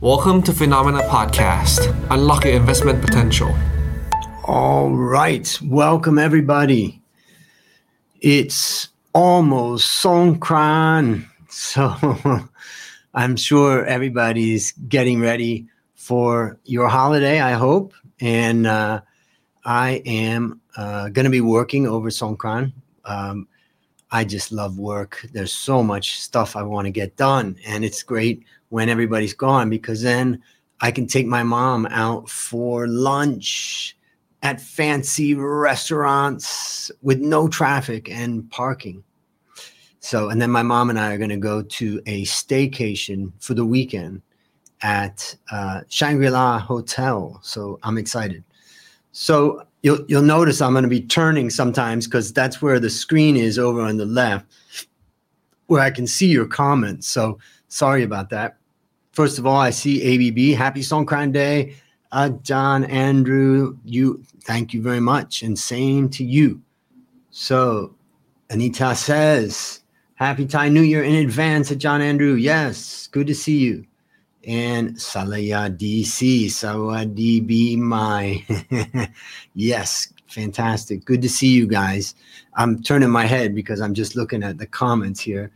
Welcome to Phenomena Podcast. Unlock your investment potential. All right. Welcome, everybody. It's almost Songkran. So I'm sure everybody's getting ready for your holiday, I hope. And I am going to be working over Songkran. I just love work. There's so much stuff I want to get done. And it's great when everybody's gone because then I can take my mom out for lunch at fancy restaurants with no traffic and parking. So, and then my mom and I are going to go to a staycation for the weekend at Shangri-La Hotel. So I'm excited. So you'll notice I'm going to be turning sometimes because that's where the screen is over on the left where I can see your comments. So sorry about that. First of all, I see ABB. Happy Songkran Day. John, Andrew, thank you very much. And same to you. So Anita says, Happy Thai New Year in advance to John Andrew. Yes, good to see you. And Salaya DC, Sawadi B my. Yes, fantastic. Good to see you guys. I'm turning my head because I'm just looking at the comments here.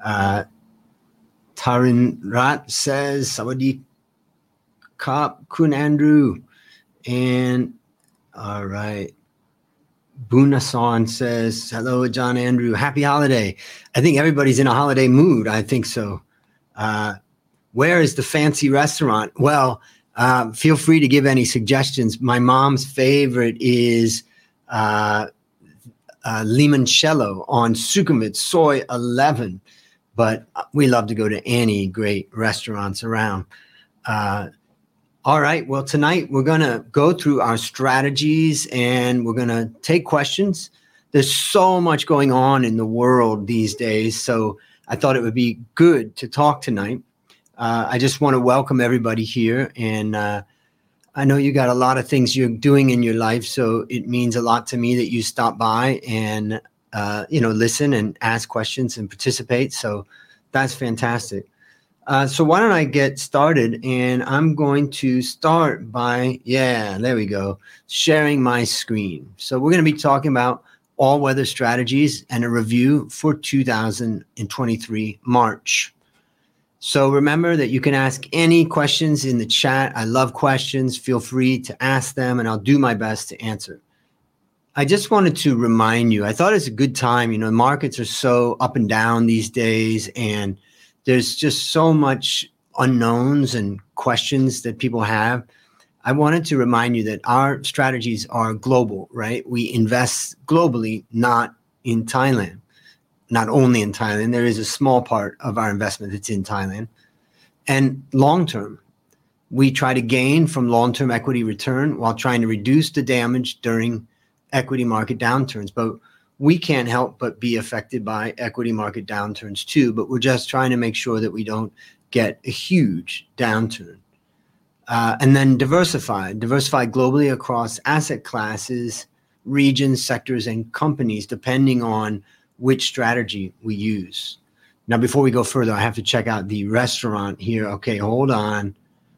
Tarin Rat says, Sawadi Kap Kun Andrew. And all right. Bunasan says, hello, John Andrew. Happy holiday. I think everybody's in a holiday mood. I think so. Where is the fancy restaurant? Well, feel free to give any suggestions. My mom's favorite is Limoncello on Sukhumvit, Soy 11. But we love to go to any great restaurants around. All right. Well, tonight we're going to go through our strategies and we're going to take questions. There's so much going on in the world these days. So I thought it would be good to talk tonight. I just want to welcome everybody here. And I know you got a lot of things you're doing in your life. So it means a lot to me that you stop by and, listen and ask questions and participate. So that's fantastic. So why don't I get started? And I'm going to start by, there we go, sharing my screen. So we're going to be talking about all-weather strategies and a review for 2023 March. So remember that you can ask any questions in the chat. I love questions. Feel free to ask them and I'll do my best to answer. I just wanted to remind you, I thought it's a good time. Markets are so up and down these days and there's just so much unknowns and questions that people have. I wanted to remind you that our strategies are global, right? We invest globally, not in Thailand. Not only in Thailand, there is a small part of our investment that's in Thailand. And long-term, we try to gain from long-term equity return while trying to reduce the damage during equity market downturns. But we can't help but be affected by equity market downturns too, but we're just trying to make sure that we don't get a huge downturn. And then diversify globally across asset classes, regions, sectors, and companies, depending on which strategy we use. Now, before we go further, I have to check out the restaurant here. Okay, hold on.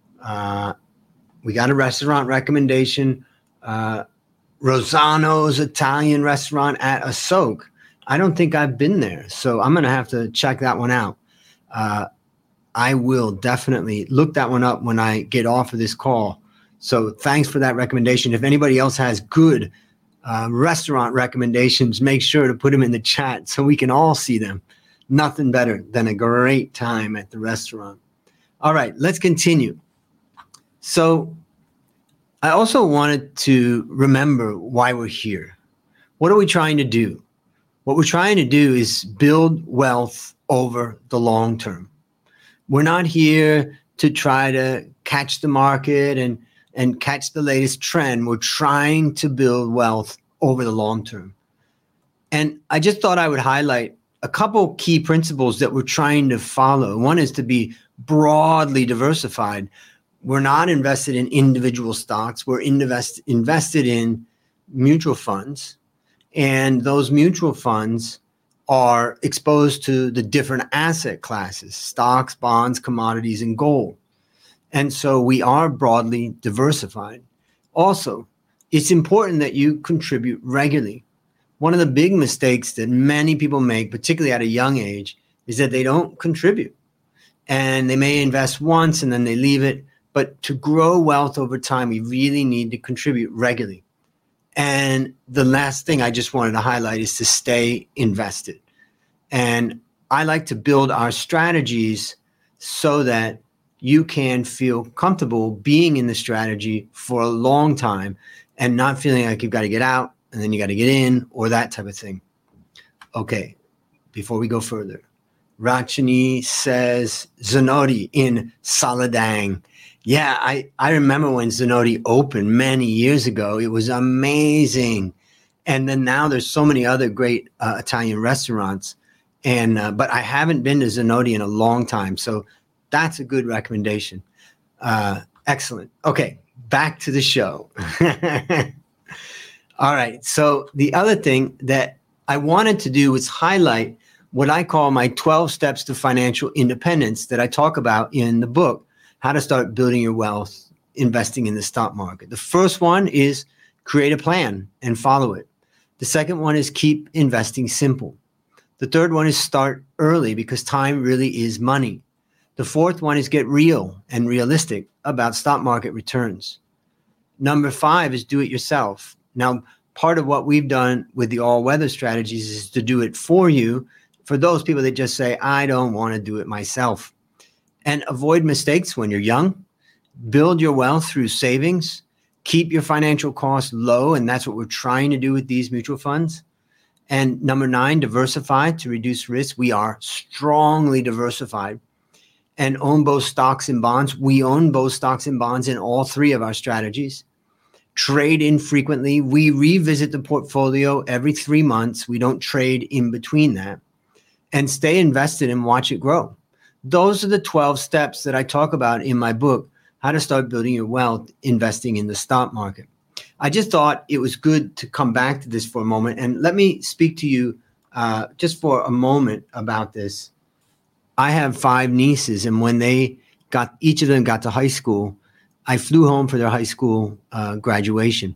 We got a restaurant recommendation. Rosano's Italian restaurant at Asok. I don't think I've been there, so I'm going to have to check that one out. I will definitely look that one up when I get off of this call. So thanks for that recommendation. If anybody else has good restaurant recommendations, make sure to put them in the chat so we can all see them. Nothing better than a great time at the restaurant. All right, let's continue. So I also wanted to remember why we're here. What are we trying to do? What we're trying to do is build wealth over the long term. We're not here to try to catch the market and catch the latest trend. We're trying to build wealth over the long term. And I just thought I would highlight a couple key principles that we're trying to follow. One is to be broadly diversified. We're not invested in individual stocks. We're invested in mutual funds. And those mutual funds are exposed to the different asset classes, stocks, bonds, commodities, and gold. And so we are broadly diversified. Also, it's important that you contribute regularly. One of the big mistakes that many people make, particularly at a young age, is that they don't contribute. And they may invest once and then they leave it. But to grow wealth over time, we really need to contribute regularly. And the last thing I just wanted to highlight is to stay invested. And I like to build our strategies so that you can feel comfortable being in the strategy for a long time and not feeling like you've got to get out and then you got to get in or that type of thing. Okay, before we go further, Rachini says Zenoti in Saladang. Yeah, I remember when Zenoti opened many years ago. It was amazing. And then now there's so many other great Italian restaurants. And but I haven't been to Zenoti in a long time. So that's a good recommendation. Excellent. Okay, back to the show. All right. So the other thing that I wanted to do was highlight what I call my 12 steps to financial independence that I talk about in the book, How to Start Building Your Wealth, Investing in the Stock Market. The first one is create a plan and follow it. The second one is keep investing simple. The third one is start early because time really is money. The fourth one is get real and realistic about stock market returns. Number 5 is do it yourself. Now, part of what we've done with the all-weather strategies is to do it for you, for those people that just say, I don't want to do it myself. And avoid mistakes when you're young. Build your wealth through savings. Keep your financial costs low, and that's what we're trying to do with these mutual funds. And number 9, diversify to reduce risk. We are strongly diversified and own both stocks and bonds. We own both stocks and bonds in all 3 of our strategies. Trade infrequently. We revisit the portfolio every 3 months. We don't trade in between that. And stay invested and watch it grow. Those are the 12 steps that I talk about in my book, How to Start Building Your Wealth, Investing in the Stock Market. I just thought it was good to come back to this for a moment. And let me speak to you just for a moment about this. I have 5 nieces, and when each of them got to high school, I flew home for their high school graduation.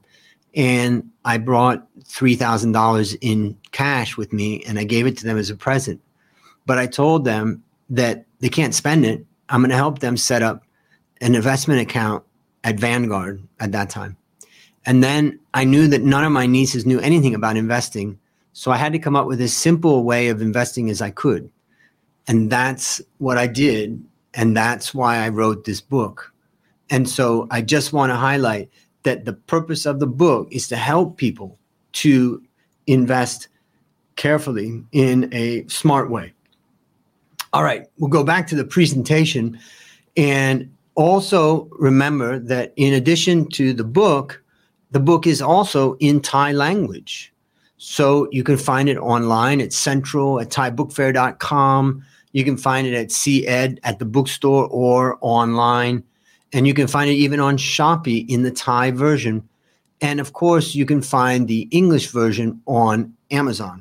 And I brought $3,000 in cash with me, and I gave it to them as a present. But I told them that they can't spend it. I'm going to help them set up an investment account at Vanguard at that time. And then I knew that none of my nieces knew anything about investing. So I had to come up with as simple a way of investing as I could. And that's what I did. And that's why I wrote this book. And so I just want to highlight that the purpose of the book is to help people to invest carefully in a smart way. All right, we'll go back to the presentation. And also remember that in addition to the book is also in Thai language. So you can find it online at Central, at thaibookfair.com. You can find it at CED, at the bookstore, or online. And you can find it even on Shopee in the Thai version. And of course, you can find the English version on Amazon.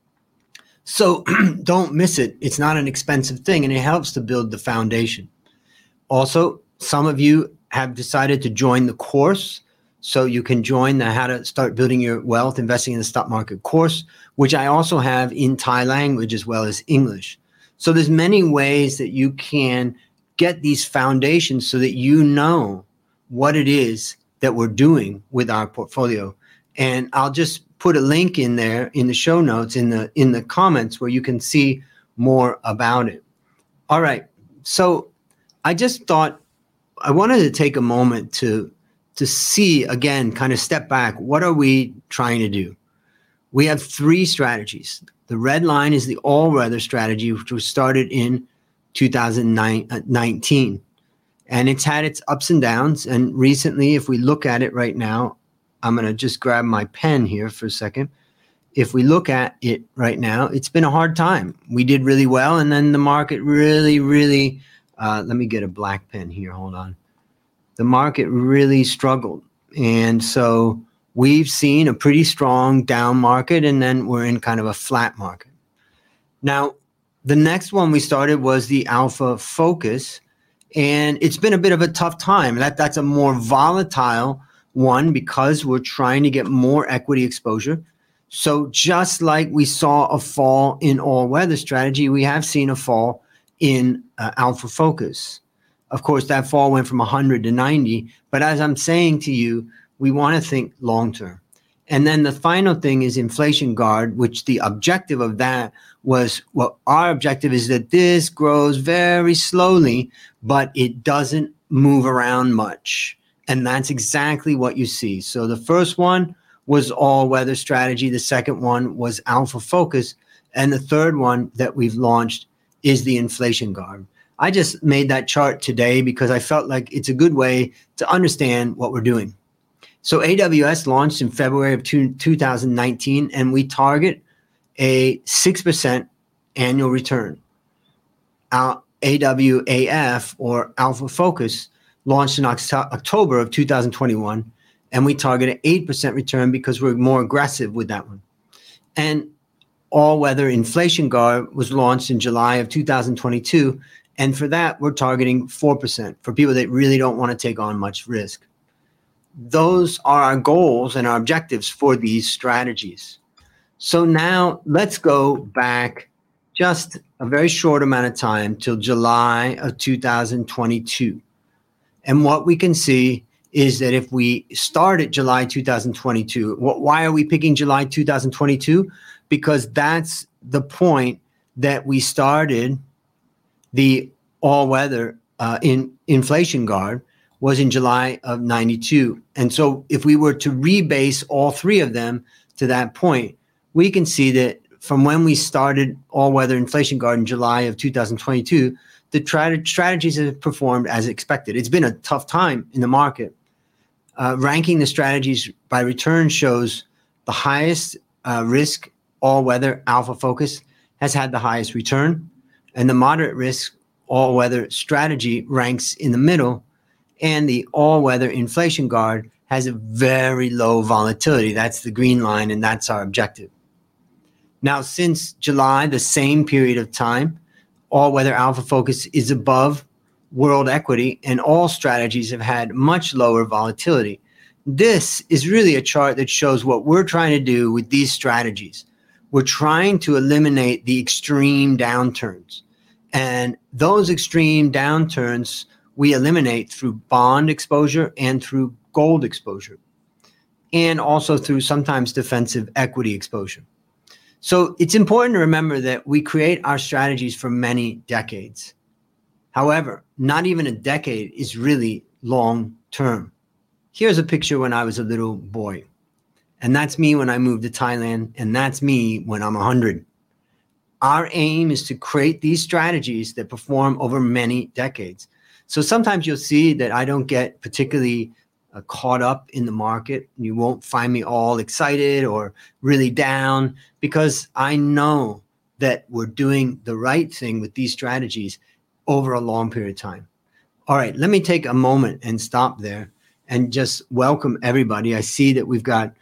So don't miss it. It's not an expensive thing, and it helps to build the foundation. Also, some of you have decided to join the course. So you can join the How to Start Building Your Wealth, Investing in the Stock Market course, which I also have in Thai language as well as English. So there's many ways that you can get these foundations so that you know what it is that we're doing with our portfolio. And I'll just put a link in there in the show notes, in the comments, where you can see more about it. All right. So I just thought I wanted to take a moment to see, again, kind of step back. What are we trying to do? We have 3 strategies. The red line is the all-weather strategy, which was started in 2019. And it's had its ups and downs. And recently, if we look at it right now, I'm going to just grab my pen here for a second. If we look at it right now, it's been a hard time. We did really well, and then the market really, let me get a black pen here. Hold on. The market really struggled. And so we've seen a pretty strong down market, and then we're in kind of a flat market. Now, the next one we started was the Alpha Focus. And it's been a bit of a tough time. That's a more volatile one because we're trying to get more equity exposure. So just like we saw a fall in all weather strategy, we have seen a fall in Alpha Focus. Of course, that fall went from 100 to 90. But as I'm saying to you, we want to think long term. And then the final thing is Inflation Guard, which the objective of that was, well, our objective is that this grows very slowly, but it doesn't move around much. And that's exactly what you see. So the first one was all weather strategy. The second one was Alpha Focus. And the third one that we've launched is the Inflation Guard. I just made that chart today because I felt like it's a good way to understand what we're doing. So AWS launched in February of 2019, and we target a 6% annual return. Our AWAF, or Alpha Focus, launched in October of 2021, and we target an 8% return because we're more aggressive with that one. And All Weather Inflation Guard was launched in July of 2022, and for that, we're targeting 4% for people that really don't want to take on much risk. Those are our goals and our objectives for these strategies. So now let's go back just a very short amount of time till July of 2022. And what we can see is that if we start at July 2022, why are we picking July 2022? Because that's the point that we started the all-weather Inflation Guard was in July of 92. And so if we were to rebase all three of them to that point, we can see that from when we started all-weather Inflation Guard in July of 2022, the strategies have performed as expected. It's been a tough time in the market. Ranking the strategies by return shows the highest risk all-weather Alpha Focus has had the highest return, and the moderate risk all-weather strategy ranks in the middle, and the all-weather Inflation Guard has a very low volatility. That's the green line, and that's our objective. Now, since July, the same period of time, all-weather Alpha Focus is above world equity, and all strategies have had much lower volatility. This is really a chart that shows what we're trying to do with these strategies. We're trying to eliminate the extreme downturns. And those extreme downturns we eliminate through bond exposure and through gold exposure, and also through sometimes defensive equity exposure. So it's important to remember that we create our strategies for many decades. However, not even a decade is really long term. Here's a picture when I was a little boy. And that's me when I moved to Thailand, and that's me when I'm 100. Our aim is to create these strategies that perform over many decades. So sometimes you'll see that I don't get particularly caught up in the market. You won't find me all excited or really down because I know that we're doing the right thing with these strategies over a long period of time. All right, let me take a moment and stop there and just welcome everybody. I see that we've got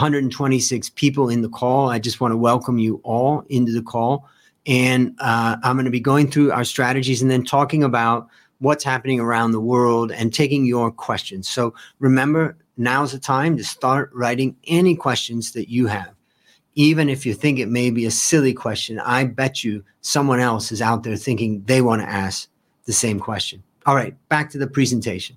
126 people in the call. I just want to welcome you all into the call. And I'm going to be going through our strategies and then talking about what's happening around the world and taking your questions. So remember, now's the time to start writing any questions that you have. Even if you think it may be a silly question, I bet you someone else is out there thinking they want to ask the same question. All right, back to the presentation.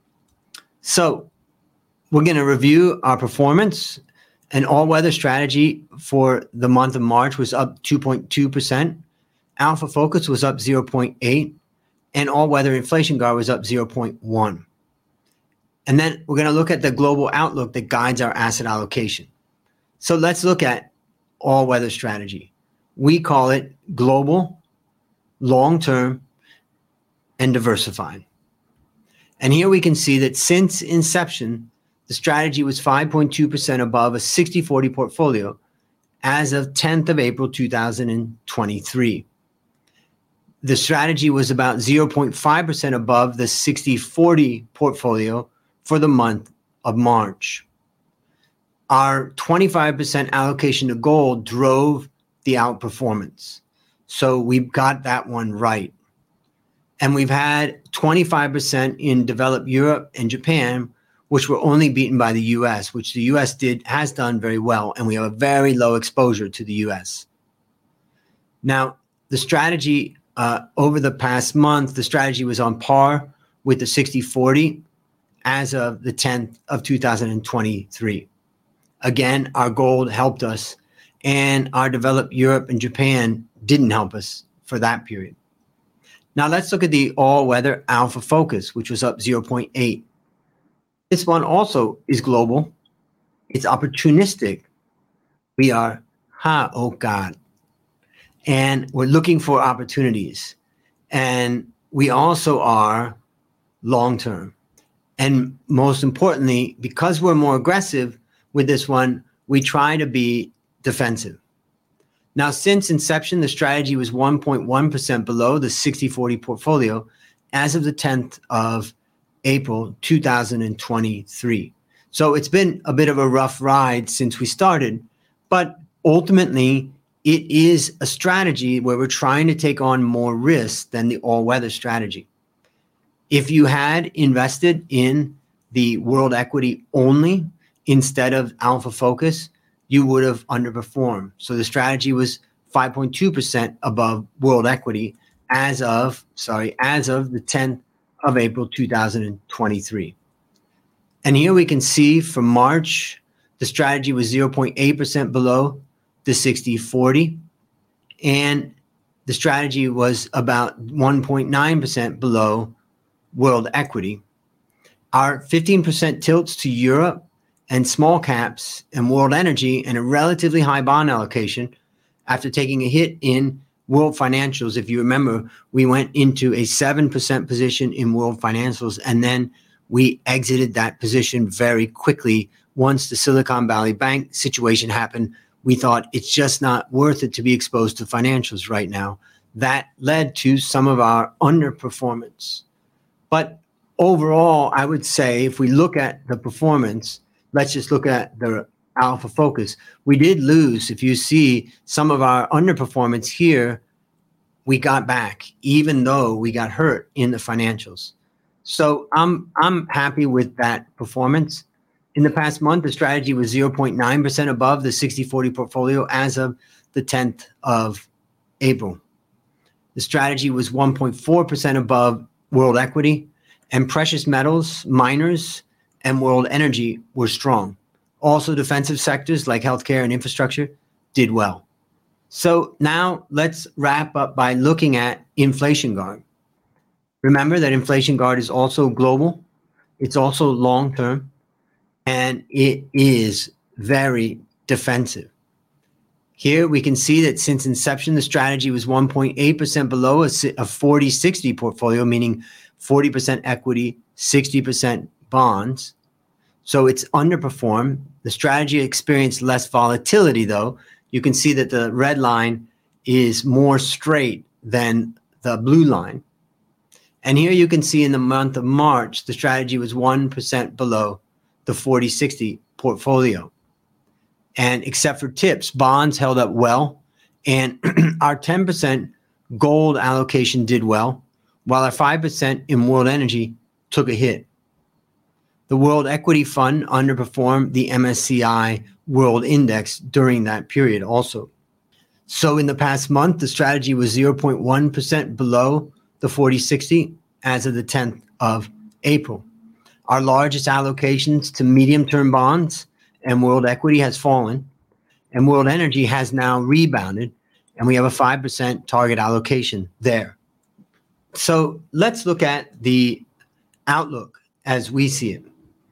So we're going to review our performance. An all-weather strategy for the month of March was up 2.2%. Alpha Focus was up 0.8%. And all-weather Inflation Guard was up 0.1%. And then we're going to look at the global outlook that guides our asset allocation. So let's look at all-weather strategy. We call it global, long-term, and diversified. And here we can see that since inception, the strategy was 5.2% above a 60-40 portfolio as of 10th of April, 2023. The strategy was about 0.5% above the 60-40 portfolio for the month of March. Our 25% allocation to gold drove the outperformance. So we got that one right. And we've had 25% in developed Europe and Japan, which were only beaten by the US, which the US has done very well. And we have a very low exposure to the US. Now, the strategy over the past month, the strategy was on par with the 60-40 as of the 10th of 2023. Again, our gold helped us, and our developed Europe and Japan didn't help us for that period. Now let's look at the all-weather Alpha Focus, which was up 0.8. This one also is global. It's opportunistic. We are, oh God. And we're looking for opportunities. And we also are long-term. And most importantly, because we're more aggressive with this one, we try to be defensive. Now, since inception, the strategy was 1.1% below the 60-40 portfolio as of the 10th of April, 2023. So it's been a bit of a rough ride since we started, but ultimately it is a strategy where we're trying to take on more risk than the all-weather strategy. If you had invested in the world equity only instead of Alpha Focus, you would have underperformed. So the strategy was 5.2% above world equity as of the 10th of April, 2023. And here we can see for March, the strategy was 0.8% below the 60-40. And the strategy was about 1.9% below world equity. Our 15% tilts to Europe and small caps and world energy and a relatively high bond allocation after taking a hit in world financials. If you remember, we went into a 7% position in world financials, and then we exited that position very quickly. Once the Silicon Valley Bank situation happened, we thought it's just not worth it to be exposed to financials right now. That led to some of our underperformance. But overall, I would say if we look at the performance, let's just look at the Alpha Focus. We did lose. If you see some of our underperformance here, we got back, even though we got hurt in the financials. So I'm happy with that performance. In the past month, the strategy was 0.9% above the 60-40 portfolio as of the 10th of April. The strategy was 1.4% above world equity, and precious metals, miners, and world energy were strong. Also, defensive sectors like healthcare and infrastructure did well. So now let's wrap up by looking at Inflation Guard. Remember that Inflation Guard is also global. It's also long-term, and it is very defensive. Here we can see that since inception, the strategy was 1.8% below a 40-60 portfolio, meaning 40% equity, 60% bonds. So it's underperformed. The strategy experienced less volatility, though. You can see that the red line is more straight than the blue line. And here you can see in the month of March, the strategy was 1% below the 40-60 portfolio. And except for tips, bonds held up well. And our 10% gold allocation did well, while our 5% in world energy took a hit. The World Equity Fund underperformed the MSCI World Index during that period also. So in the past month, the strategy was 0.1% below the 40-60 as of the 10th of April. Our largest allocations to medium-term bonds and world equity has fallen, and world energy has now rebounded, and we have a 5% target allocation there. So let's look at the outlook as we see it.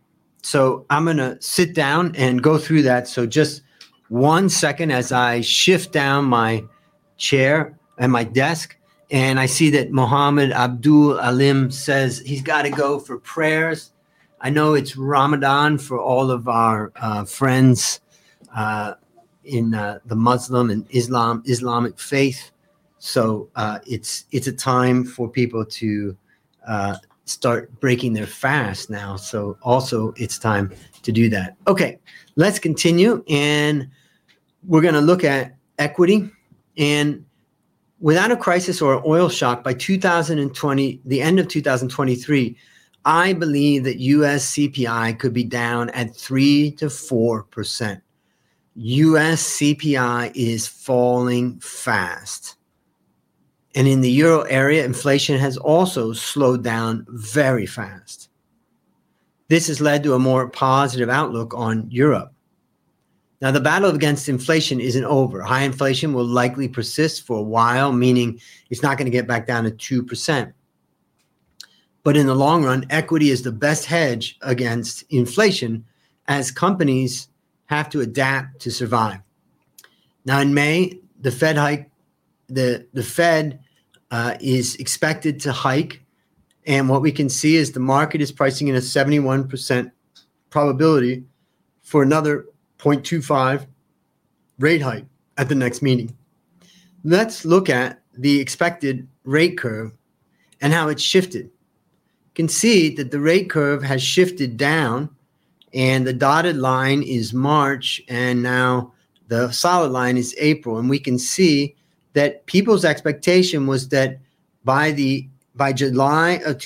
So I'm going to sit down and go through that. So just 1 second as I shift down my chair and my desk, and I see that Mohammed Abdul Alim says he's got to go for prayers. I know it's Ramadan for all of our friends in the Muslim and Islamic faith. So it's a time for people to start breaking their fast now. So also it's time to do that. Okay, let's continue. And we're going to look at equity. And without a crisis or an oil shock by 2020, the end of 2023, I believe that US CPI could be down at 3 to 4%. US CPI is falling fast. And in the euro area, inflation has also slowed down very fast. This has led to a more positive outlook on Europe. Now, the battle against inflation isn't over. High inflation will likely persist for a while, meaning it's not going to get back down to 2%. But in the long run, equity is the best hedge against inflation as companies have to adapt to survive. Now, in May, the Fed hike, the Fed is expected to hike. And what we can see is the market is pricing in a 71% probability for another 0.25 rate hike at the next meeting. Let's look at the expected rate curve and how it's shifted. You can see that the rate curve has shifted down, and the dotted line is March, and now the solid line is April. And we can see that people's expectation was that by July of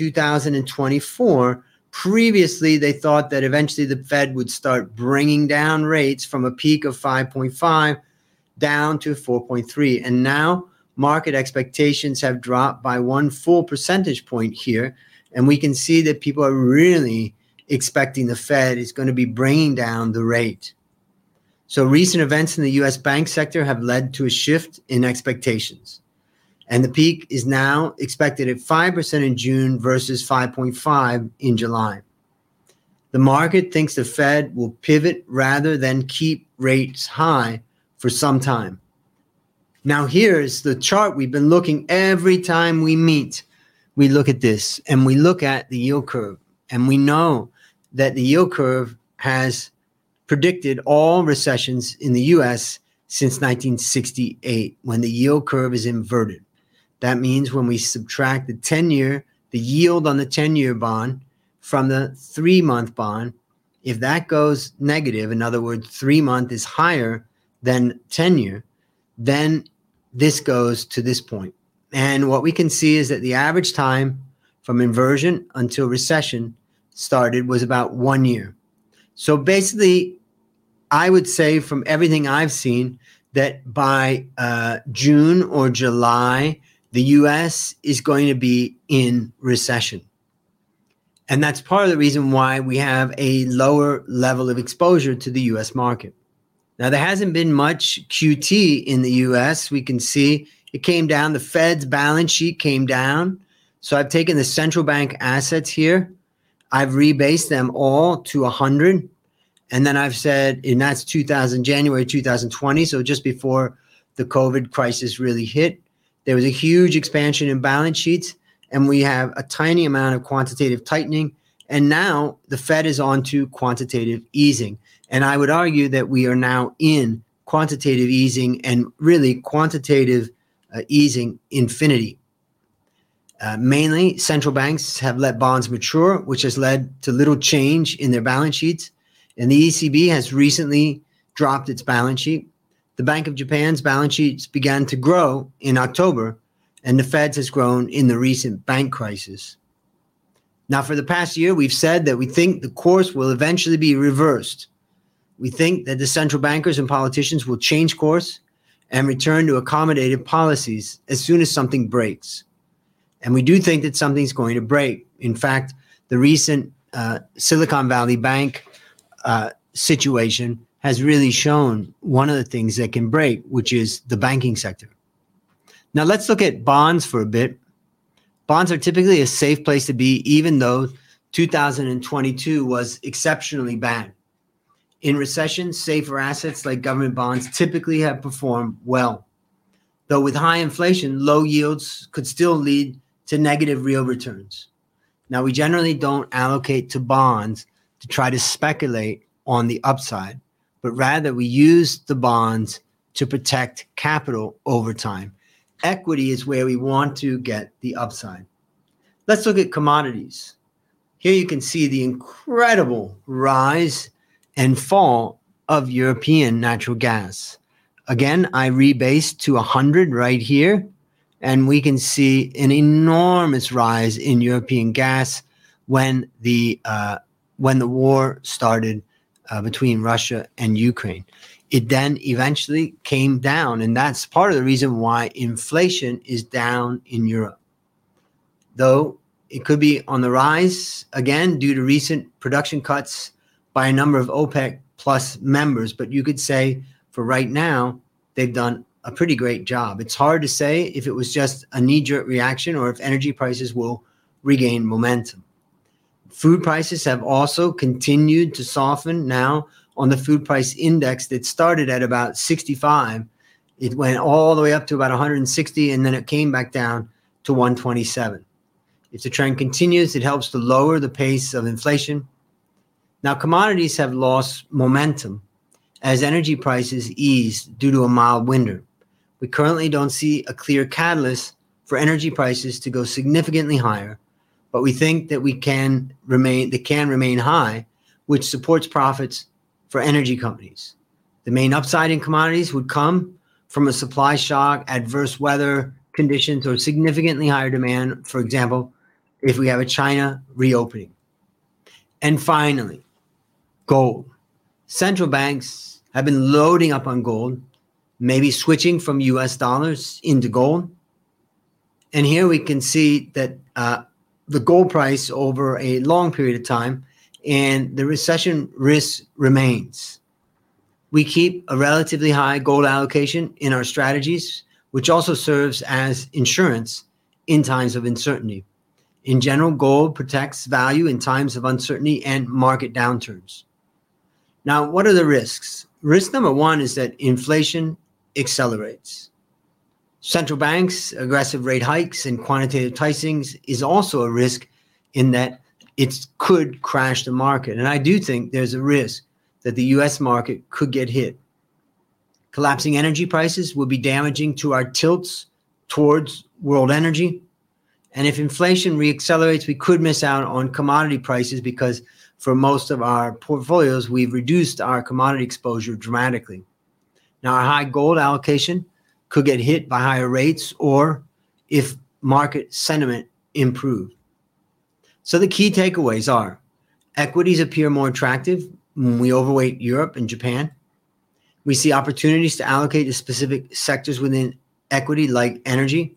2024, previously they thought that eventually the Fed would start bringing down rates from a peak of 5.5 down to 4.3. And now market expectations have dropped by 1 full percentage point here. And we can see that people are really expecting the Fed is going to be bringing down the rate. So recent events in the U.S. bank sector have led to a shift in expectations. And the peak is now expected at 5% in June versus 5.5 in July. The market thinks the Fed will pivot rather than keep rates high for some time. Now here's the chart we've been looking every time we meet. We look at this and we look at the yield curve. And we know that the yield curve has predicted all recessions in the U.S. since 1968, when the yield curve is inverted. That means when we subtract the 10-year, the yield on the 10-year bond from the 3-month bond, if that goes negative, in other words, 3-month is higher than 10-year, then this goes to this point. And what we can see is that the average time from inversion until recession started was about 1 year. So basically, I would say from everything I've seen that by June or July, the U.S. is going to be in recession. And that's part of the reason why we have a lower level of exposure to the U.S. market. Now, there hasn't been much QT in the U.S. We can see it came down. The Fed's balance sheet came down. So I've taken the central bank assets here. I've rebased them all to 100. And then I've said, and that's January 2020, so just before the COVID crisis really hit, there was a huge expansion in balance sheets, and we have a tiny amount of quantitative tightening. And now the Fed is on to quantitative easing. And I would argue that we are now in quantitative easing, and really quantitative easing infinity. Mainly, central banks have let bonds mature, which has led to little change in their balance sheets. And the ECB has recently dropped its balance sheet. The Bank of Japan's balance sheets began to grow in October, and the Fed's has grown in the recent bank crisis. Now, for the past year, we've said that we think the course will eventually be reversed. We think that the central bankers and politicians will change course and return to accommodative policies as soon as something breaks. And we do think that something's going to break. In fact, the recent Silicon Valley Bank situation has really shown one of the things that can break, which is the banking sector. Now let's look at bonds for a bit. Bonds are typically a safe place to be, even though 2022 was exceptionally bad. In recession, safer assets like government bonds typically have performed well. Though with high inflation, low yields could still lead to negative real returns. Now, we generally don't allocate to bonds to try to speculate on the upside, but rather we use the bonds to protect capital over time. Equity is where we want to get the upside. Let's look at commodities. Here you can see the incredible rise and fall of European natural gas. Again, I rebased to 100 right here. And we can see an enormous rise in European gas when the war started between Russia and Ukraine. It then eventually came down, and that's part of the reason why inflation is down in Europe. Though it could be on the rise again due to recent production cuts by a number of OPEC plus members, but you could say for right now, they've done a pretty great job. It's hard to say if it was just a knee-jerk reaction or if energy prices will regain momentum. Food prices have also continued to soften now. On the food price index that started at about 65, it went all the way up to about 160, and then it came back down to 127. If the trend continues, it helps to lower the pace of inflation. Now, commodities have lost momentum as energy prices ease due to a mild winter. We currently don't see a clear catalyst for energy prices to go significantly higher, but we think that they can remain high, which supports profits for energy companies. The main upside in commodities would come from a supply shock, adverse weather conditions, or significantly higher demand, for example, if we have a China reopening. And finally, gold. Central banks have been loading up on gold, maybe switching from US dollars into gold. And here we can see that the gold price over a long period of time and the recession risk remains. We keep a relatively high gold allocation in our strategies, which also serves as insurance in times of uncertainty. In general, gold protects value in times of uncertainty and market downturns. Now, what are the risks? Risk number one is that inflation accelerates. Central banks' aggressive rate hikes and quantitative tightens is also a risk in that it could crash the market. And I do think there's a risk that the US market could get hit. Collapsing energy prices will be damaging to our tilts towards world energy. And if inflation reaccelerates, we could miss out on commodity prices because for most of our portfolios, we've reduced our commodity exposure dramatically. Now, our high gold allocation could get hit by higher rates or if market sentiment improves. So the key takeaways are equities appear more attractive when we overweight Europe and Japan. We see opportunities to allocate to specific sectors within equity like energy.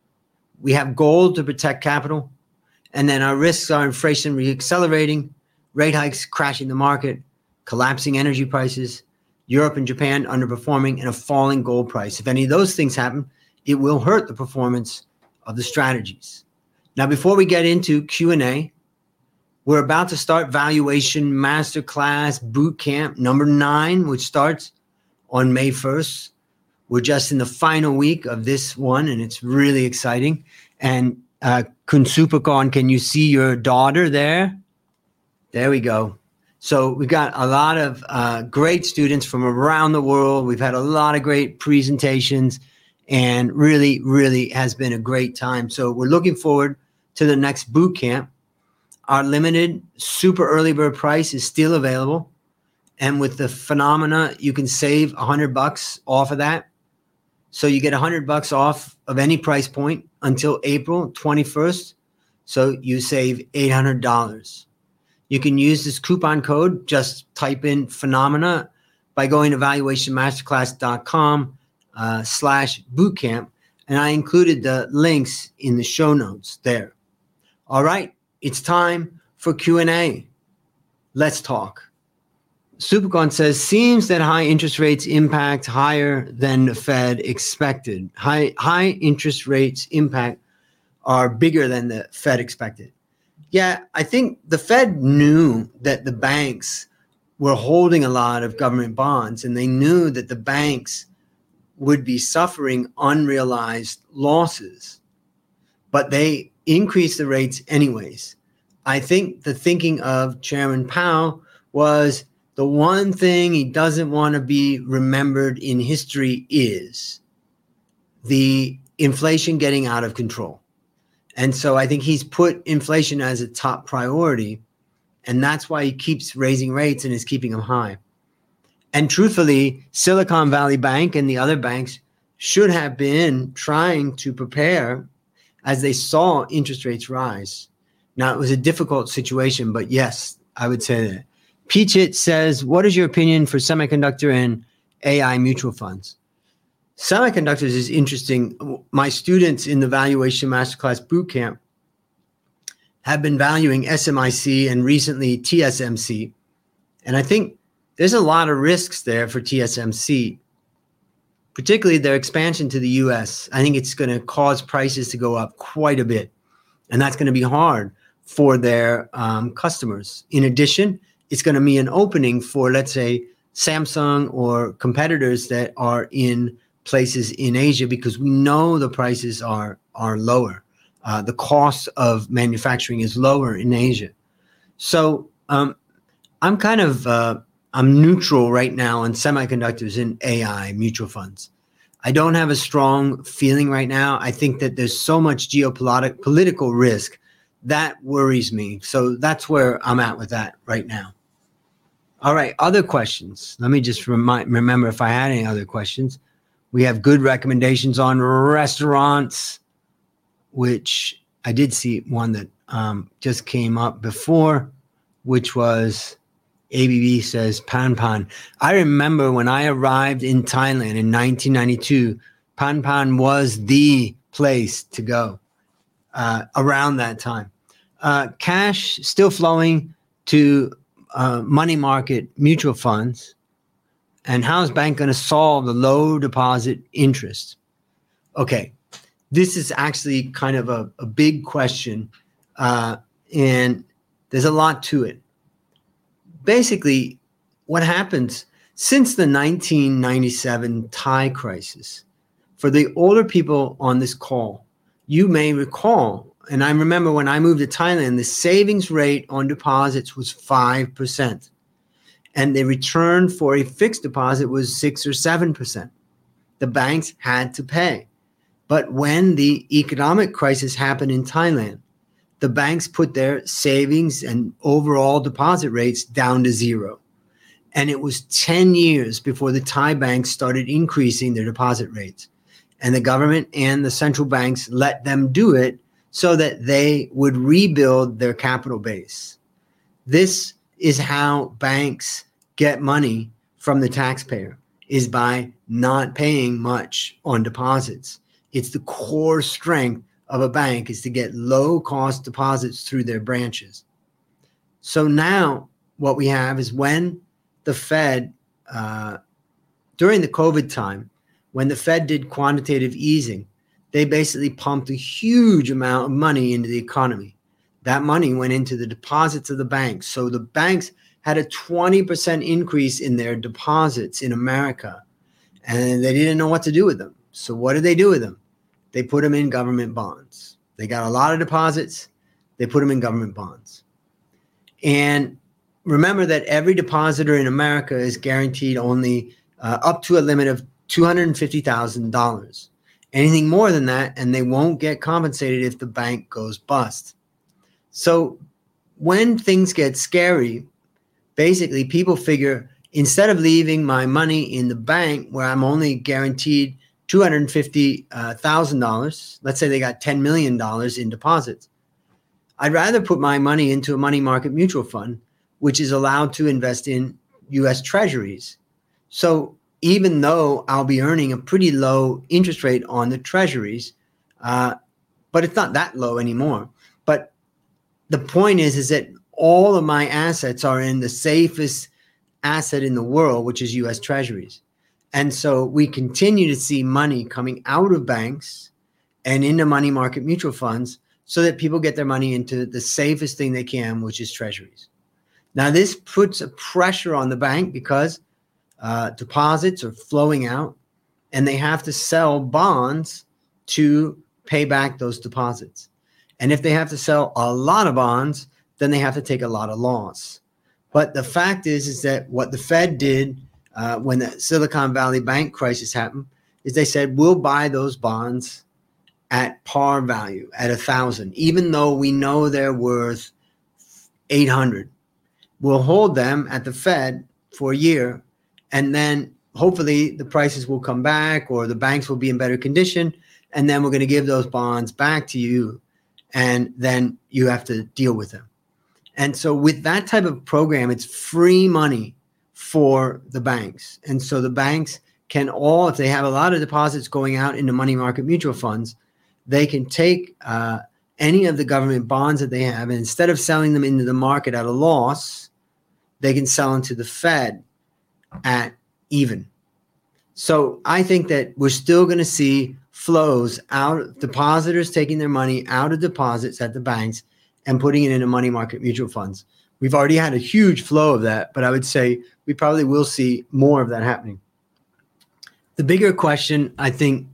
We have gold to protect capital. And then our risks are inflation reaccelerating, rate hikes crashing the market, collapsing energy prices, Europe and Japan underperforming, and a falling gold price. If any of those things happen, it will hurt the performance of the strategies. Now, before we get into Q&A, we're about to start Valuation Masterclass Bootcamp number 9, which starts on May 1st. We're just in the final week of this one, and it's really exciting. And Kunsupakon, can you see your daughter there? There we go. So we've got a lot of great students from around the world. We've had a lot of great presentations, and really, really has been a great time. So we're looking forward to the next boot camp. Our limited super early bird price is still available. And with the phenomena, you can save $100 off of that. So you get $100 off of any price point until April 21st. So you save $800. You can use this coupon code. Just type in phenomena by going to valuationmasterclass.com/bootcamp. And I included the links in the show notes there. All right, it's time for Q&A. Let's talk. Supakon says, seems that high interest rates impact higher than the Fed expected. High interest rates impact are bigger than the Fed expected. Yeah, I think the Fed knew that the banks were holding a lot of government bonds, and they knew that the banks would be suffering unrealized losses, but they increased the rates anyways. I think the thinking of Chairman Powell was the one thing he doesn't want to be remembered in history is the inflation getting out of control. And so I think he's put inflation as a top priority, and that's why he keeps raising rates and is keeping them high. And truthfully, Silicon Valley Bank and the other banks should have been trying to prepare as they saw interest rates rise. Now, it was a difficult situation, but yes, I would say that. Peachit says, what is your opinion for semiconductor and AI mutual funds? Semiconductors is interesting. My students in the Valuation Masterclass Bootcamp have been valuing SMIC and recently TSMC. And I think there's a lot of risks there for TSMC, particularly their expansion to the US. I think it's going to cause prices to go up quite a bit. And that's going to be hard for their customers. In addition, it's going to be an opening for, let's say, Samsung or competitors that are in places in Asia, because we know the prices are lower. The cost of manufacturing is lower in Asia. So I'm neutral right now on semiconductors and AI mutual funds. I don't have a strong feeling right now. I think that there's so much geopolitical risk that worries me. So that's where I'm at with that right now. All right, other questions. Let me just remember if I had any other questions. We have good recommendations on restaurants, which I did see one that just came up before, which was ABB says Pan Pan. I remember when I arrived in Thailand in 1992, Pan Pan was the place to go around that time. Cash still flowing to money market mutual funds. And how is bank going to solve the low deposit interest? Okay, this is actually kind of a big question, and there's a lot to it. Basically, what happens since the 1997 Thai crisis, for the older people on this call, you may recall, and I remember when I moved to Thailand, the savings rate on deposits was 5%. And the return for a fixed deposit was 6 or 7%. The banks had to pay. But when the economic crisis happened in Thailand, the banks put their savings and overall deposit rates down to zero. And it was 10 years before the Thai banks started increasing their deposit rates. And the government and the central banks let them do it so that they would rebuild their capital base. This is how banks get money from the taxpayer, is by not paying much on deposits. It's the core strength of a bank, is to get low cost deposits through their branches. So now what we have is when the Fed, during the COVID time, when the Fed did quantitative easing, they basically pumped a huge amount of money into the economy. That money went into the deposits of the banks. So the banks had a 20% increase in their deposits in America, and they didn't know what to do with them. So what did they do with them? They put them in government bonds. They got a lot of deposits. They put them in government bonds. And remember that every depositor in America is guaranteed only up to a limit of $250,000. Anything more than that, and they won't get compensated if the bank goes bust. So when things get scary, basically people figure, instead of leaving my money in the bank where I'm only guaranteed $250,000, let's say they got $10 million in deposits, I'd rather put my money into a money market mutual fund, which is allowed to invest in U.S. treasuries. So even though I'll be earning a pretty low interest rate on the treasuries, but it's not that low anymore. But the point is that all of my assets are in the safest asset in the world, which is U.S. treasuries. And so we continue to see money coming out of banks and into money market mutual funds so that people get their money into the safest thing they can, which is treasuries. Now, this puts a pressure on the bank because deposits are flowing out and they have to sell bonds to pay back those deposits. And if they have to sell a lot of bonds, then they have to take a lot of loss. But the fact is that what the Fed did when the Silicon Valley Bank crisis happened is they said, we'll buy those bonds at par value, at 1,000, even though we know they're worth 800. We'll hold them at the Fed for a year, and then hopefully the prices will come back or the banks will be in better condition. And then we're going to give those bonds back to you. And then you have to deal with them. And so with that type of program, it's free money for the banks. And so the banks can all, if they have a lot of deposits going out into money market mutual funds, they can take any of the government bonds that they have, and instead of selling them into the market at a loss, they can sell them to the Fed at even. So I think that we're still going to see flows out, depositors taking their money out of deposits at the banks and putting it into money market mutual funds. We've already had a huge flow of that, but I would say we probably will see more of that happening. The bigger question, I think,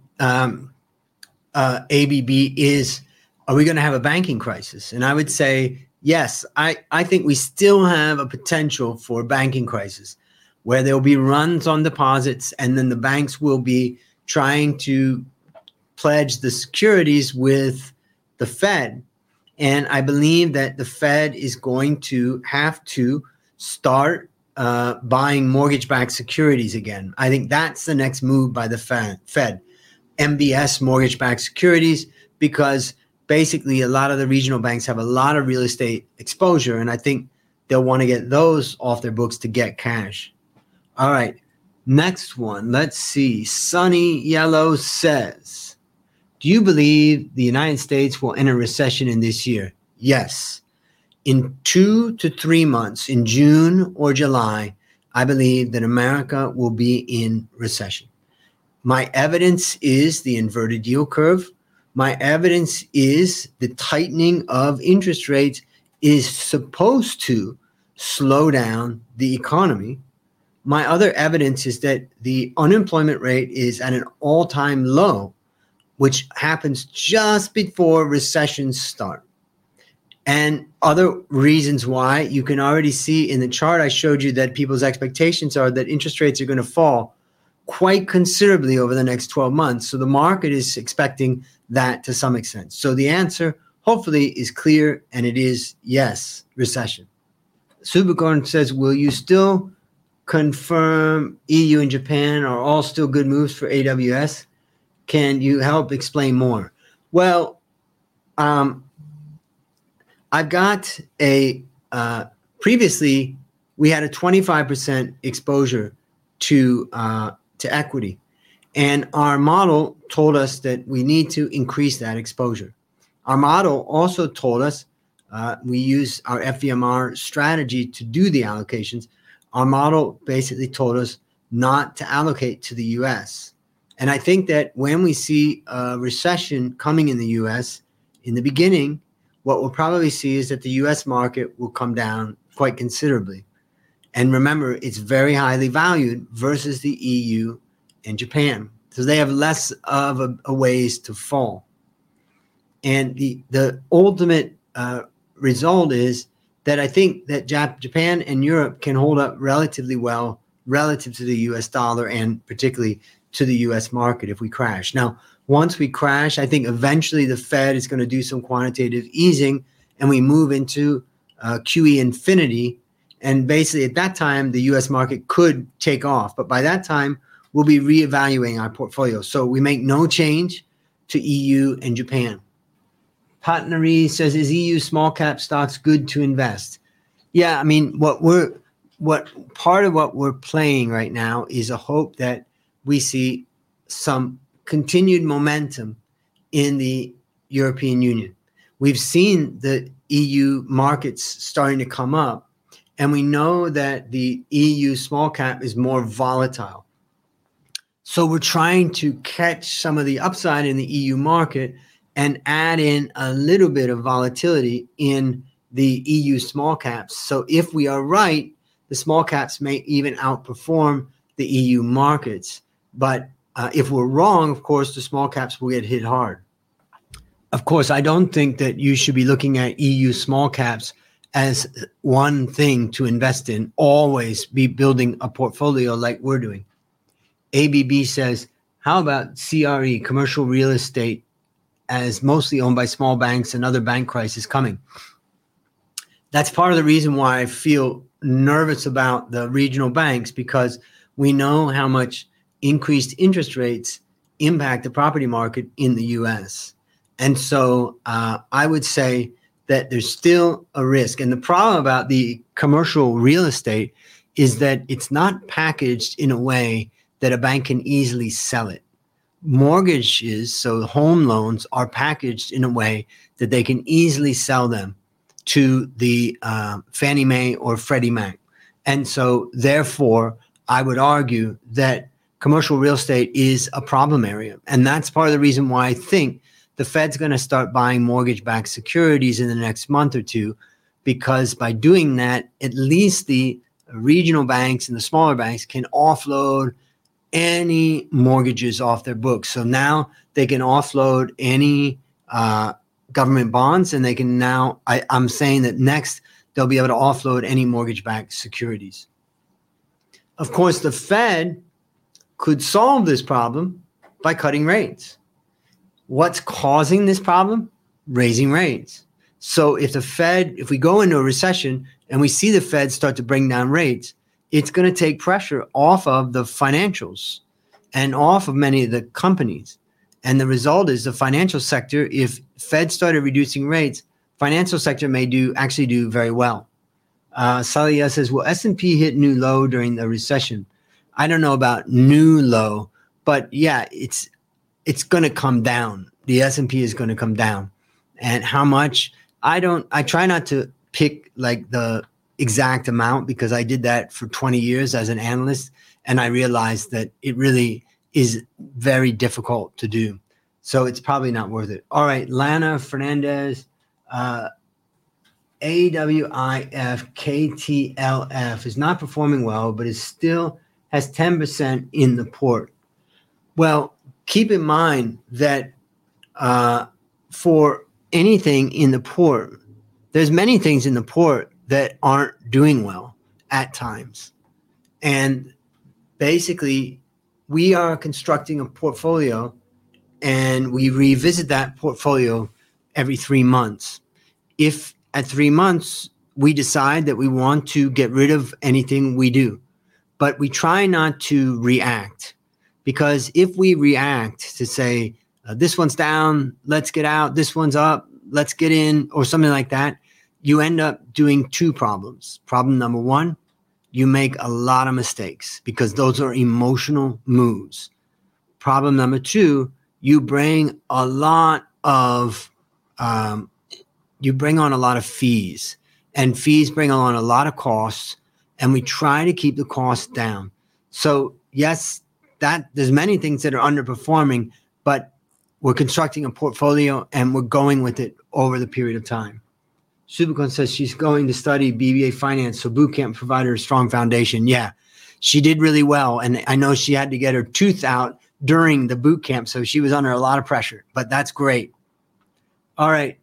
ABB, is, are we going to have a banking crisis? And I would say, yes, I think we still have a potential for a banking crisis where there will be runs on deposits, and then the banks will be trying to pledge the securities with the Fed. And I believe that the Fed is going to have to start buying mortgage-backed securities again. I think that's the next move by the Fed. MBS, mortgage-backed securities, because basically a lot of the regional banks have a lot of real estate exposure, and I think they'll want to get those off their books to get cash. All right, next one. Let's see. Sunny Yellow says, do you believe the United States will enter recession in this year? Yes. In 2 to 3 months, in June or July, I believe that America will be in recession. My evidence is the inverted yield curve. My evidence is the tightening of interest rates is supposed to slow down the economy. My other evidence is that the unemployment rate is at an all-time low, which happens just before recessions start. And other reasons why, you can already see in the chart I showed you that people's expectations are that interest rates are going to fall quite considerably over the next 12 months. So the market is expecting that to some extent. So the answer, hopefully, is clear, and it is yes, recession. Supercorn says, will you still confirm EU and Japan are all still good moves for AWS? Can you help explain more? Well, I've got previously we had a 25% exposure to equity, and our model told us that we need to increase that exposure. Our model also told us we use our FVMR strategy to do the allocations. Our model basically told us not to allocate to the U.S. And I think that when we see a recession coming in the U.S. in the beginning, what we'll probably see is that the U.S. market will come down quite considerably. And remember, it's very highly valued versus the EU and Japan. So they have less of a ways to fall. And the ultimate result is that I think that Japan and Europe can hold up relatively well relative to the US dollar and particularly to the US market if we crash. Now, once we crash, I think eventually the Fed is going to do some quantitative easing and we move into QE infinity. And basically at that time, the US market could take off. But by that time, we'll be reevaluating our portfolio. So we make no change to EU and Japan. Patnari says, is EU small cap stocks good to invest? Yeah, I mean, part of what we're playing right now is a hope that we see some continued momentum in the European Union. We've seen the EU markets starting to come up, and we know that the EU small cap is more volatile. So we're trying to catch some of the upside in the EU market and add in a little bit of volatility in the EU small caps. So if we are right, the small caps may even outperform the EU markets. But if we're wrong, of course, the small caps will get hit hard. Of course, I don't think that you should be looking at EU small caps as one thing to invest in. Always be building a portfolio like we're doing. ABB says, how about CRE, commercial real estate, as mostly owned by small banks and other bank crises coming? That's part of the reason why I feel nervous about the regional banks, because We know how much increased interest rates impact the property market in the U.S. And so I would say that there's still a risk. And the problem about the commercial real estate is that it's not packaged in a way that a bank can easily sell it. Mortgages, so home loans, are packaged in a way that they can easily sell them to the Fannie Mae or Freddie Mac. And so therefore, I would argue that commercial real estate is a problem area. And that's part of the reason why I think the Fed's going to start buying mortgage-backed securities in the next month or two, because by doing that, at least the regional banks and the smaller banks can offload any mortgages off their books. So now they can offload any government bonds, and they can now, I'm saying that next they'll be able to offload any mortgage-backed securities. Of course, the Fed could solve this problem by cutting rates. What's causing this problem? Raising rates. So if we go into a recession and we see the Fed start to bring down rates, it's going to take pressure off of the financials and off of many of the companies. And the result is the financial sector, if Fed started reducing rates, financial sector may actually do very well. Salia says, will S&P hit new low during the recession? I don't know about new low, but yeah, it's going to come down. The S&P is going to come down. And how much? I try not to pick like the exact amount, because I did that for 20 years as an analyst, and I realized that it really is very difficult to do. So it's probably not worth it. All right, Lana Fernandez, AWIF KTLF is not performing well, but it still has 10% in the port. Well, keep in mind that for anything in the port, there's many things in the port that aren't doing well at times. And basically, we are constructing a portfolio, and we revisit that portfolio every 3 months. If at 3 months we decide that we want to get rid of anything, we do. But we try not to react, because if we react to say, this one's down, let's get out, this one's up, let's get in, or something like that, you end up doing two problems. Problem number one, you make a lot of mistakes because those are emotional moves. Problem number two, you bring on a lot of fees, and fees bring on a lot of costs, and we try to keep the costs down. So yes, there's many things that are underperforming, but we're constructing a portfolio and we're going with it over the period of time. Subicon says she's going to study BBA finance, so boot camp provided her a strong foundation. Yeah, she did really well. And I know she had to get her tooth out during the boot camp, so she was under a lot of pressure, but that's great. All right.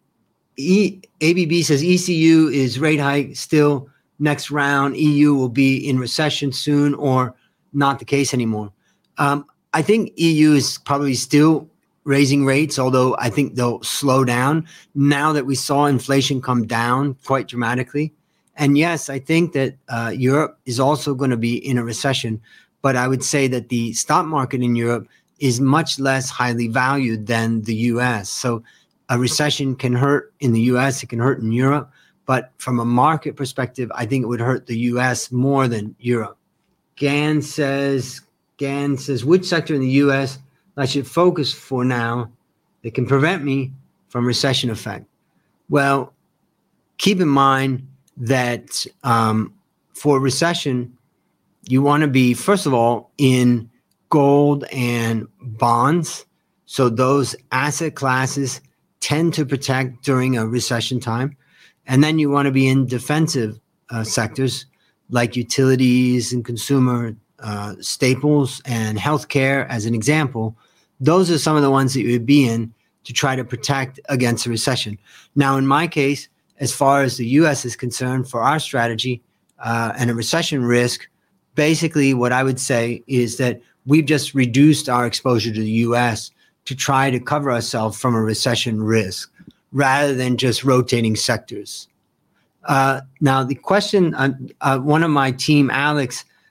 ABB says ECU is rate hike still next round. EU will be in recession soon, or not the case anymore. I think EU is probably still raising rates, although I think they'll slow down now that we saw inflation come down quite dramatically. And yes, I think that Europe is also going to be in a recession, but I would say that the stock market in Europe is much less highly valued than the US. So a recession can hurt in the US, it can hurt in Europe, but from a market perspective, I think it would hurt the US more than Europe. Gan says, which sector in the US I should focus for now that can prevent me from recession effect? Well, keep in mind that for recession, you want to be, first of all, in gold and bonds. So those asset classes tend to protect during a recession time. And then you want to be in defensive sectors like utilities and consumer staples and healthcare, as an example. Those are some of the ones that you would be in to try to protect against a recession. Now, in my case, as far as the U.S. is concerned, for our strategy and a recession risk, basically what I would say is that we've just reduced our exposure to the U.S. to try to cover ourselves from a recession risk rather than just rotating sectors. Now, the question, one of my team, Alex,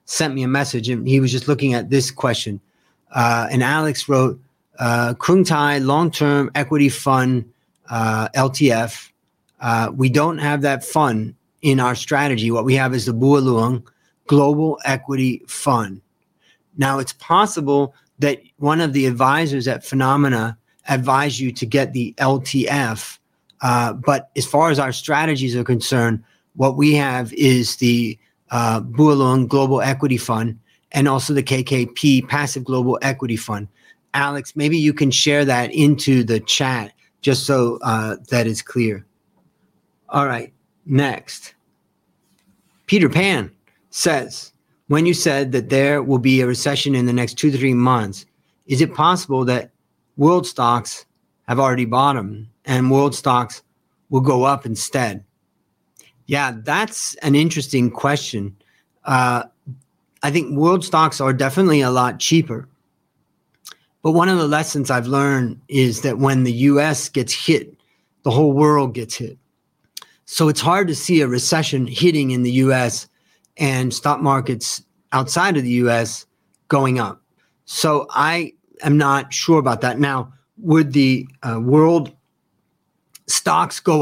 sent me a message, and he was just looking at this question. And Alex wrote, Krung Thai Long-Term Equity Fund, LTF. We don't have that fund in our strategy. What we have is the Bua Luang Global Equity Fund. Now, it's possible that one of the advisors at Phenomena advised you to get the LTF. But as far as our strategies are concerned, what we have is the Bua Luang Global Equity Fund and also the KKP Passive Global Equity Fund. Alex, maybe you can share that into the chat just so that is clear. All right, next. Peter Pan says, when you said that there will be a recession in the next 2 to 3 months, is it possible that world stocks have already bottomed and world stocks will go up instead? Yeah, that's an interesting question. I think world stocks are definitely a lot cheaper. But one of the lessons I've learned is that when the US gets hit, the whole world gets hit. So it's hard to see a recession hitting in the US and stock markets outside of the US going up. So I am not sure about that. Now, would the world stocks go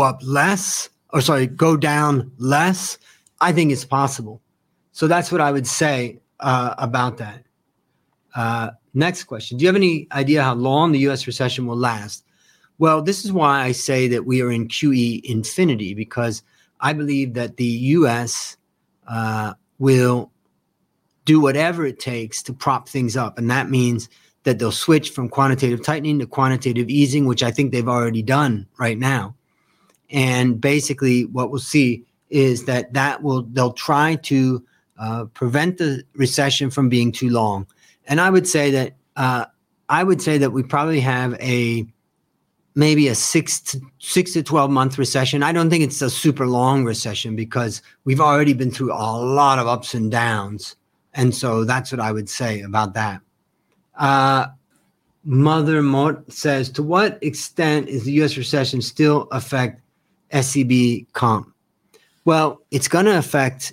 down less? I think it's possible. So that's what I would say about that. Next question. Do you have any idea how long the US recession will last? Well, this is why I say that we are in QE infinity, because I believe that the US will do whatever it takes to prop things up. And that means that they'll switch from quantitative tightening to quantitative easing, which I think they've already done right now. And basically what we'll see is that they'll try to prevent the recession from being too long. And I would say that we probably have maybe a 6 to 12 month recession. I don't think it's a super long recession because we've already been through a lot of ups and downs. And so that's what I would say about that. Mother Mort says, to what extent is the U.S. recession still affect SCB comp? Well, it's going to affect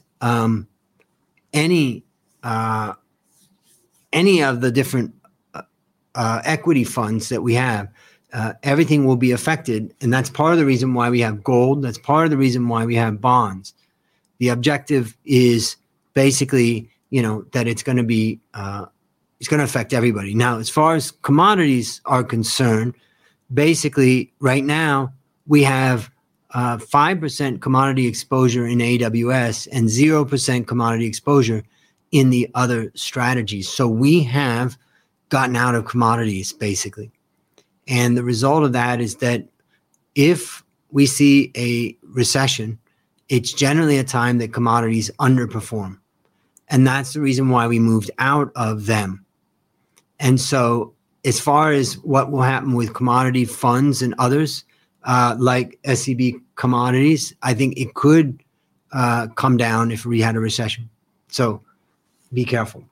any of the different equity funds that we have. Everything will be affected. And that's part of the reason why we have gold. That's part of the reason why we have bonds. The objective is basically, that it's going to be, it's going to affect everybody. Now, as far as commodities are concerned, basically right now we have 5% commodity exposure in AWS and 0% commodity exposure in the other strategies. So we have gotten out of commodities basically. And the result of that is that if we see a recession, it's generally a time that commodities underperform. And that's the reason why we moved out of them. And so as far as what will happen with commodity funds and others, like SCB commodities, I think it could come down if we had a recession. So be careful.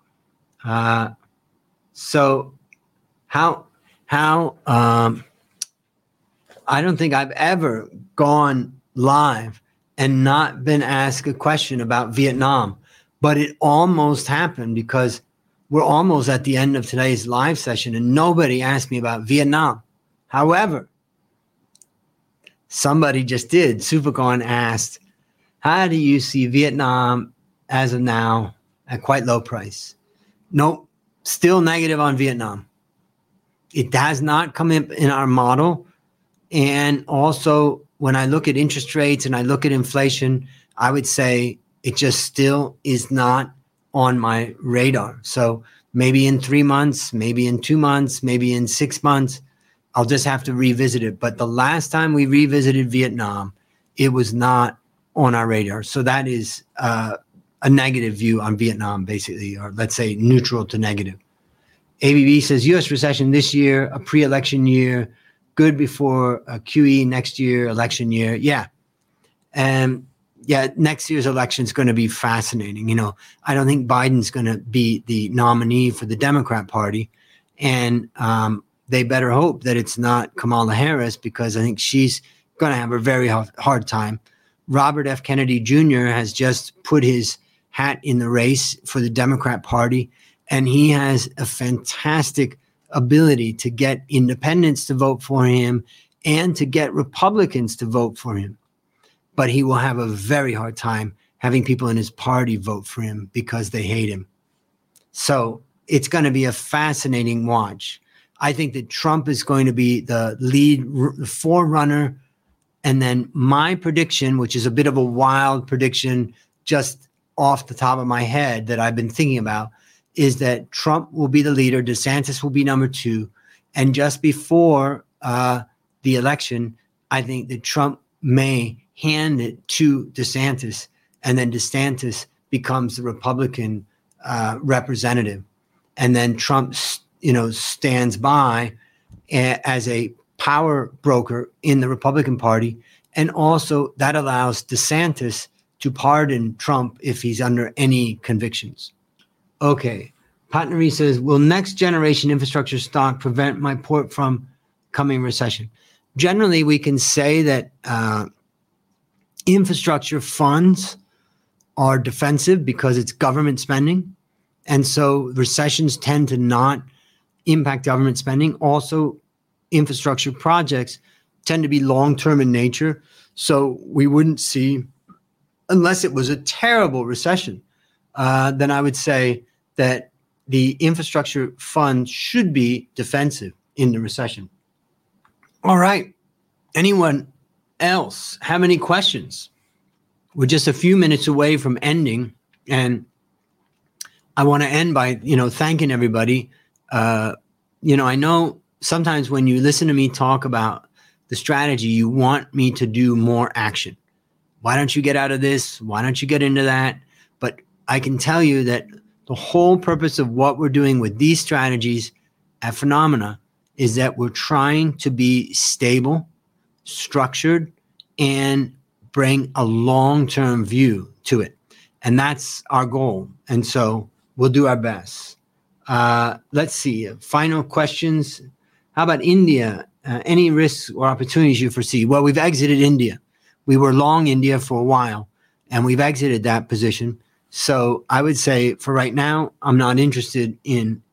So how I don't think I've ever gone live and not been asked a question about Vietnam, but it almost happened because we're almost at the end of today's live session and nobody asked me about Vietnam. However, somebody just did. Supercon asked, how do you see Vietnam as of now at quite low price? Nope, still negative on Vietnam. It has not come in our model. And also, when I look at interest rates and I look at inflation, I would say it just still is not on my radar. So maybe in 3 months, maybe in 2 months, maybe in 6 months, I'll just have to revisit it. But the last time we revisited Vietnam, it was not on our radar. So that is a negative view on Vietnam, basically, or let's say neutral to negative. ABB says U.S. recession this year, a pre-election year, good before a QE next year, election year. Yeah. And yeah, next year's election is going to be fascinating. I don't think Biden's going to be the nominee for the Democrat Party. And they better hope that it's not Kamala Harris, because I think she's going to have a very hard time. Robert F. Kennedy Jr. has just put his hat in the race for the Democrat Party, and he has a fantastic ability to get independents to vote for him and to get Republicans to vote for him. But he will have a very hard time having people in his party vote for him because they hate him. So it's going to be a fascinating watch. I think that Trump is going to be the lead forerunner. And then my prediction, which is a bit of a wild prediction just off the top of my head that I've been thinking about, is that Trump will be the leader, DeSantis will be number 2. And just before the election, I think that Trump may hand it to DeSantis, and then DeSantis becomes the Republican representative. And then Trump, stands by as a power broker in the Republican Party. And also that allows DeSantis to pardon Trump if he's under any convictions. Okay. Patnari says, will next generation infrastructure stock prevent my port from coming recession? Generally, we can say that infrastructure funds are defensive because it's government spending. And so recessions tend to not impact government spending. Also, infrastructure projects tend to be long-term in nature. So we wouldn't see, unless it was a terrible recession, then I would say that the infrastructure fund should be defensive in the recession. All right. Anyone else have any questions? We're just a few minutes away from ending, and I want to end by, thanking everybody. I know sometimes when you listen to me talk about the strategy, you want me to do more action. Why don't you get out of this? Why don't you get into that? But I can tell you that the whole purpose of what we're doing with these strategies at Phenomena is that we're trying to be stable, structured, and bring a long-term view to it. And that's our goal. And so we'll do our best. Let's see. Final questions. How about India? Any risks or opportunities you foresee? Well, we've exited India. We were long India for a while, and we've exited that position. So I would say for right now, I'm not interested in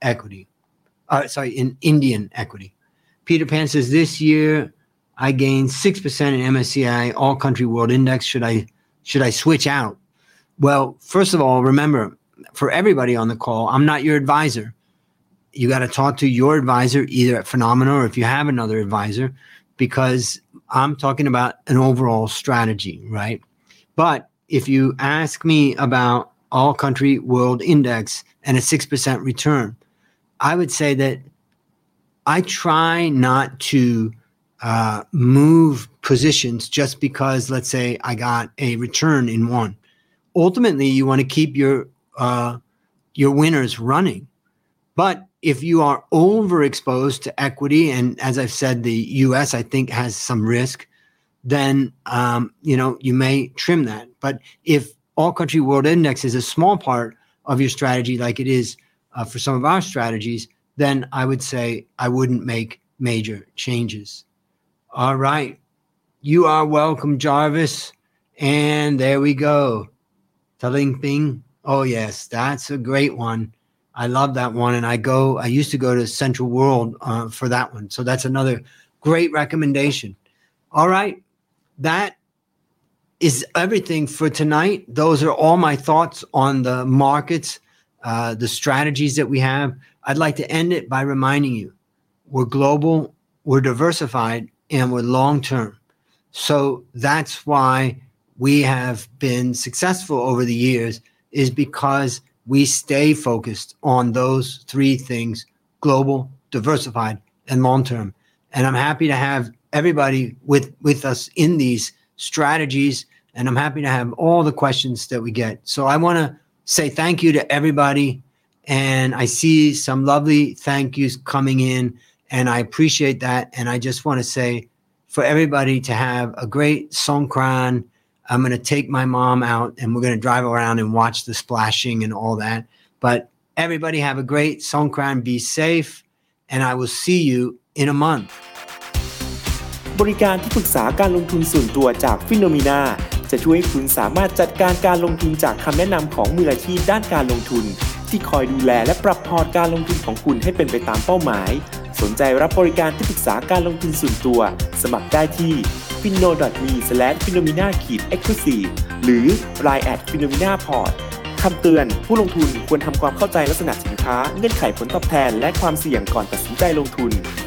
in Indian equity. Peter Pan says, this year I gained 6% in MSCI All Country World Index. Should I switch out? Well, first of all, remember, for everybody on the call, I'm not your advisor. You got to talk to your advisor either at Phenomena or if you have another advisor, because I'm talking about an overall strategy, right? But if you ask me about All Country World Index and a 6% return, I would say that I try not to move positions just because, let's say, I got a return in one. Ultimately, you want to keep your winners running. But if you are overexposed to equity, and as I've said, the U.S. I think has some risk, then you may trim that. But if All Country World Index is a small part of your strategy, like it is for some of our strategies, then I would say I wouldn't make major changes. All right. You are welcome, Jarvis. And there we go. Taling Ping. Oh, yes, that's a great one. I love that one. And I used to go to Central World for that one. So that's another great recommendation. All right. That is everything for tonight. Those are all my thoughts on the markets, the strategies that we have. I'd like to end it by reminding you, we're global, we're diversified, and we're long-term. So that's why we have been successful over the years, is because we stay focused on those three things: global, diversified, and long-term. And I'm happy to have everybody with us in these strategies, and I'm happy to have all the questions that we get. So I want to say thank you to everybody, and I see some lovely thank yous coming in, and I appreciate that. And I just want to say for everybody to have a great Songkran. I'm going to take my mom out and we're going to drive around and watch the splashing and all that. But everybody have a great Songkran, be safe, and I will see you in a month. บริการที่ปรึกษาการลงทุนส่วนตัวจาก Phenomena จะช่วยให้คุณสามารถจัดการลงทุนจากคำแนะนำของมืออาชีพด้านการลงทุนที่คอยดูแลและปรับพอร์ตการลงทุนของคุณให้เป็นไปตามเป้าหมายสนใจรับบริการที่ปรึกษาการลงทุนส่วนตัวสมัครได้ที่ finno.me/phenomena-exclusive หรือ line @phenomena-port คำเตือนผู้ลงทุนควรทำความเข้าใจลักษณะสินค้าเงื่อนไขผลตอบแทนและความเสี่ยงก่อนตัดสินใจลงทุน